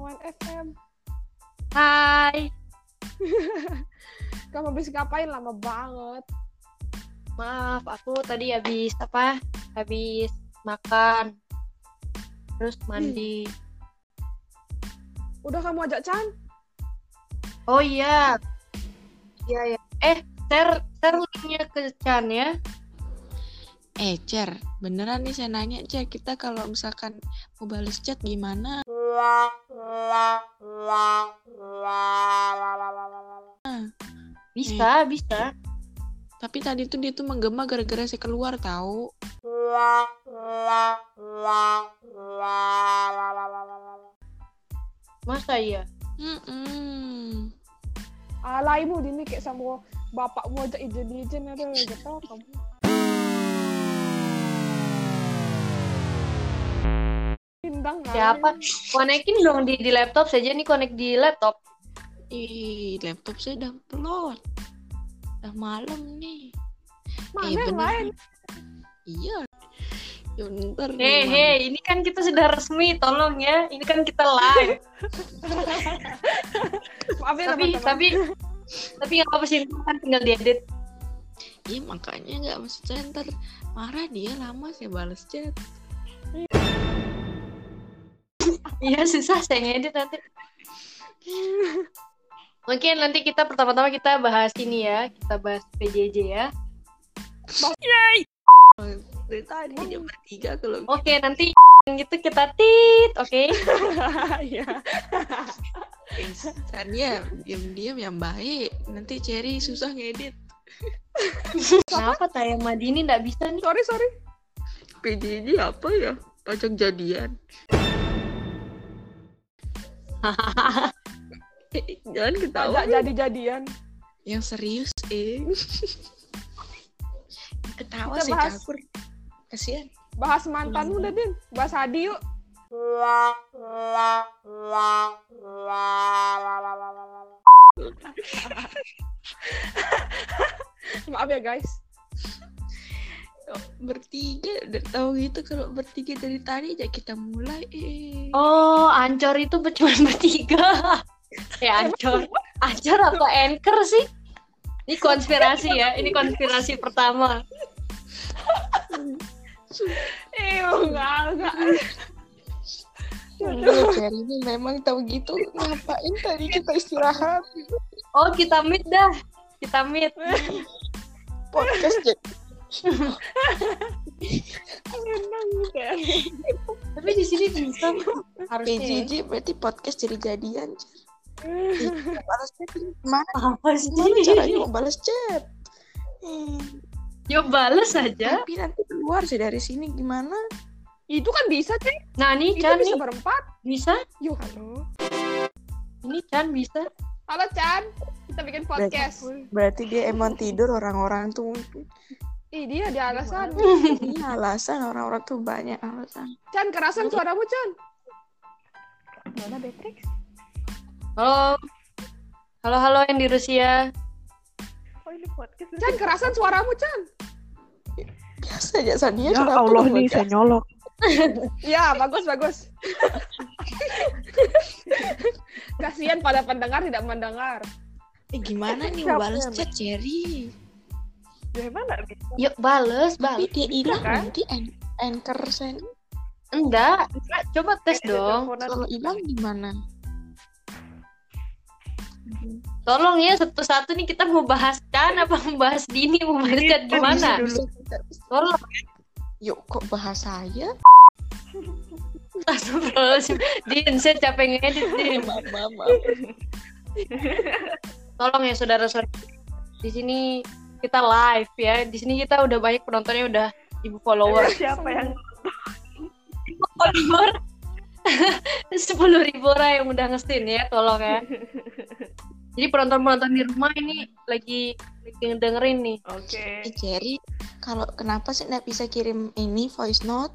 Aman FM. Hai. Kamu habis ngapain? Lama banget. Maaf, aku tadi habis makan. Terus mandi. Udah kamu ajak Chan? Oh iya. Iya ya. Share linknya ke Chan ya. Cer, beneran nih saya nanya, Cer, kita kalau misalkan mau balas chat gimana? Bisa. Tapi tadi tuh dia tuh menggema gara-gara saya keluar tahu. Masa iya? Alaimu dini kayak sama bapakmu ajak ijen ada gitu kamu. Pindang Siapa? Konekin dong di laptop saja nih, konek di laptop. Ih, laptop saya udah pelot. Udah malam nih. Mana yang lain? Iya. Ya ntar. Hei, ini kan kita sudah resmi, tolong ya. Ini kan kita live. Maaf ya teman-teman. Tapi nggak apa-apa sih, kan tinggal diedit. Iya makanya nggak maksud saya ntar marah dia lama saya balas chat. Iya susah saya ngedit nanti. Mungkin nanti kita pertama-tama kita bahas ini ya, kita bahas PJJ ya. Dari tadi jam 3 kalau. Oke, nanti gitu kita tit, oke? Iya. Instannya diam-diam yang baik. Nanti Cherry susah ngedit. Kenapa Taya Madini nggak bisa nih? Sorry. PJJ apa ya? Pajak jadian. Jangan ketawa. Ajak jadi-jadian. Yang serius, Ketawa Kita sih bahas. cakur. Kasihan. Bahas mantanmu dah, Din. Bahas Hadi yuk. Maaf ya guys. Bertiga udah tahu gitu kalau bertiga dari tadi aja kita mulai. Oh, Ancor itu cuma bertiga. Ya Ancor atau Anchor sih? Ini konspirasi ya. Ini konspirasi pertama. Enggak. Cherry ini memang tahu gitu. Ngapain tadi kita istirahat? Oh, kita meet dah. Kita meet. Podcast jadi. Tapi di sini bisa harusnya. PJJ berarti podcast jadi jadian. Balas chat gimana? Apa sih? Gimana caranya mau balas chat? Yuk balas aja. Tapi nanti keluar sih dari sini gimana? Itu kan bisa, Cek. Nah, nih Itu Chan bisa nih. berempat. Bisa? Yuk, halo. Ini Chan bisa. Halo, Chan. Kita bikin podcast. Berarti dia emang tidur orang-orang tuh. Dia ada alasan. Ini alasan orang-orang tuh banyak alasan. Chan, kerasan suaramu, Chan. Mana Beatrix? Halo yang di Rusia. Oh, ini podcast. Chan, kerasan suaramu, Chan. Biasa aja Sania. Ya Allah nih saya nyolok. Ya, bagus. Kasihan pada pendengar tidak mendengar. Gimana nih mau balas chat Cherry? Gimana? Yuk balas. Tapi dia hilang kan? nanti anchor sen. Enggak. Coba tes dong. Kalau hilang gimana? Tolong ya satu-satu nih, kita mau bahas Chan apa mau bahas Dini, mau bahas Chan gimana? Tolong. Yuk kok bahas saya? Astagfirullahaladzim. Din, saya capek ngedit, Din. Maaf. Tolong ya saudara-saudara. Di sini kita live ya. Di sini kita udah banyak penontonnya, udah 1,000 follower. Siapa yang Follower 10.000 orang yang udah ngestin ya, tolong ya. Jadi penonton-penonton di rumah ini lagi ngedengerin nih. Oke. Cherry, kalau kenapa sih nggak bisa kirim ini voice note?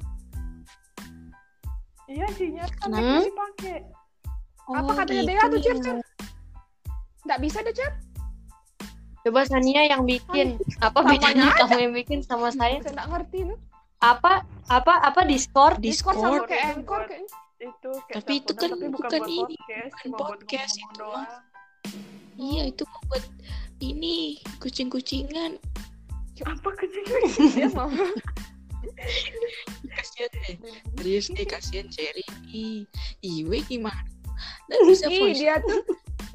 Iya, sinyal kan Hmm? bisa dipakai. Apa katanya gitu Dea tuh, ya. Chan? Nggak bisa deh, Chan. Coba Sania yang bikin. Apa Samanya bedanya aja. kamu yang bikin sama saya? Saya nggak ngerti nih. Apa Discord? Discord sama kayak Anchor kayaknya. Itu kayak Tapi itu teleponan, kan tapi bukan bukan buat ini, podcast, bukan cuma buat podcast ngomong itu doang. Iya, itu mau buat ini kucing-kucingan. Apa kecil? Dia mau. Kasian deh. Serius nih, kasian Cherry nih. Iwe gimana? Nggak bisa Ih, voice. dia tuh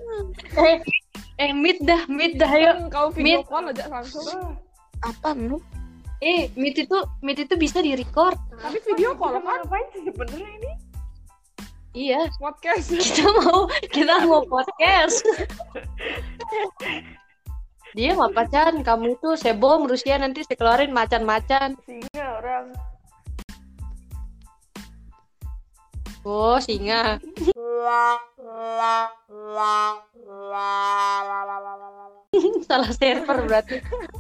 Meet dah yuk. kau video Meet. call aja langsung. Apa Mnu? Meet itu bisa di-record. Tapi video call Kita mau kan ngapain sih sebenarnya ini? Iya, podcast. kita mau podcast. Dia mah pacan, kamu itu sebom Rusia nanti saya keluarin macan-macan. Singa orang. Oh, singa. Salah server berarti.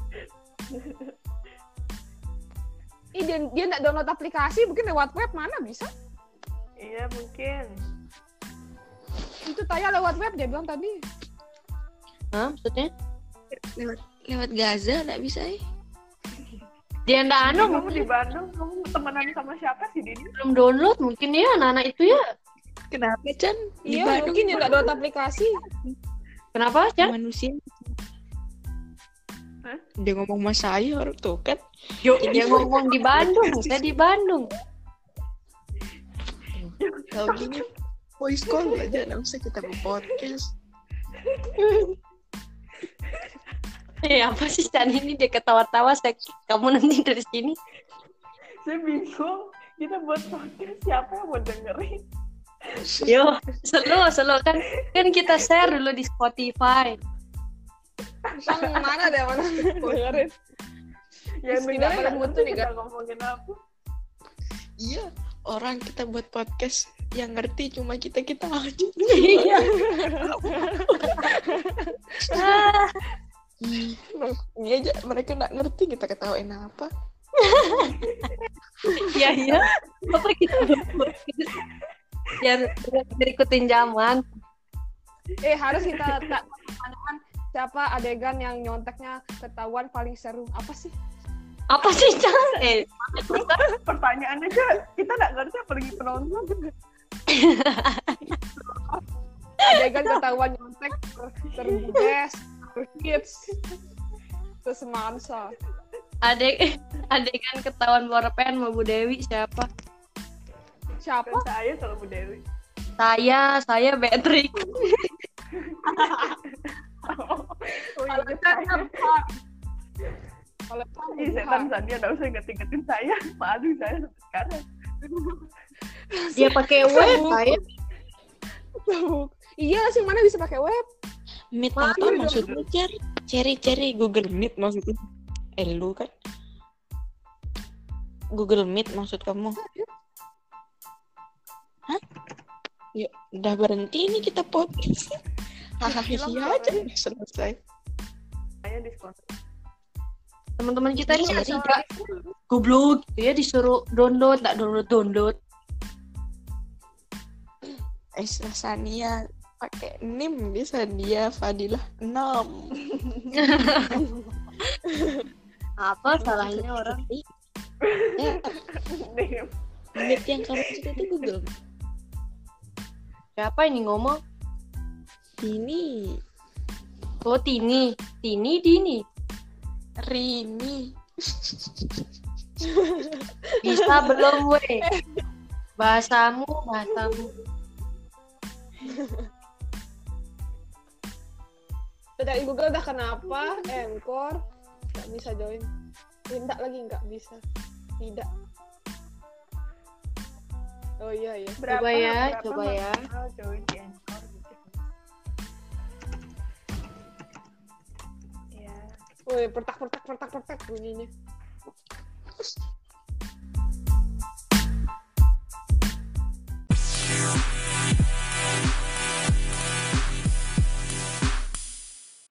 Ih, dia nggak download aplikasi, mungkin lewat web mana bisa? Iya mungkin. Itu Taya lewat web dia bilang tadi. Hah, maksudnya? Lewat Gaza nggak bisa ya? Dia ndak anu, Kamu di Bandung, kamu temenan sama siapa sih Dini? belum download mungkin ya anak-anak itu ya. Kenapa Chan? Di Iya, Bandung mungkin dia nggak download aplikasi. Kenapa, Chan? manusia. Hah? Dia ngomong sama saya orang tuh kan. Dia ngomong di Bandung, saya di Bandung. Tahu gini voice call aja, nggak usah kita podcast. Apa sih Chan ini dia ketawa-tawa, kamu nanti dari sini. Saya bingung. Kita buat podcast, siapa yang mau dengerin? Yo, selo kan kita share dulu di Spotify. Bang, mana deh mana dengerin. Ya Terus dengerin tidak pada nggak mutu ngerti nih, kita ngomongin apa. Iya, orang kita buat podcast yang ngerti cuma kita aja. Iya. Ini aja mereka nggak ngerti kita ketawain apa. Iya. Apa kita yang berikutin zaman. Harus kita tak pertanyaan siapa adegan yang nyonteknya ketahuan paling seru. Apa sih? Apa sih Chan? Pertanyaan aja kita nggak ngerti apalagi penonton. Adegan ketahuan nyontek seru best, terus hits, terus semansa. Adegan ketahuan bawa pen sama Bu Dewi siapa? Siapa? Kan saya kalau Bu Dewi. Saya Patrick. Kalau kita kalau Ih, setan Sania nggak usah ingetin saya. Malu saya sampai sekarang. Dia pakai web saya. iya sih mana bisa pakai web? Meet apa maksudnya Cherry Google Meet maksudnya? Lu kan Google Meet maksud kamu? Hah? Yuk, udah berhenti ini kita podcast. Hahaha aja selesai. Saya diskon. Teman-teman kita ini Jadi- agak goblok gitu ya, disuruh download, tak download. Sania pakai NIM bisa dia Fadilah 6. Apa salahnya orang? Ya, Nih, Meet yang kamu maksud itu Google. Siapa ini ngomong? Ini Oh, Dini. Rini. Bisa belum, weh? Bahasamu. Dari Google udah kenapa? Anchor nggak bisa join. Minta lagi nggak bisa. Tidak. Oh iya. Coba ya. maksimal join di Anchor gitu. Ya. Woi, pertak bunyinya.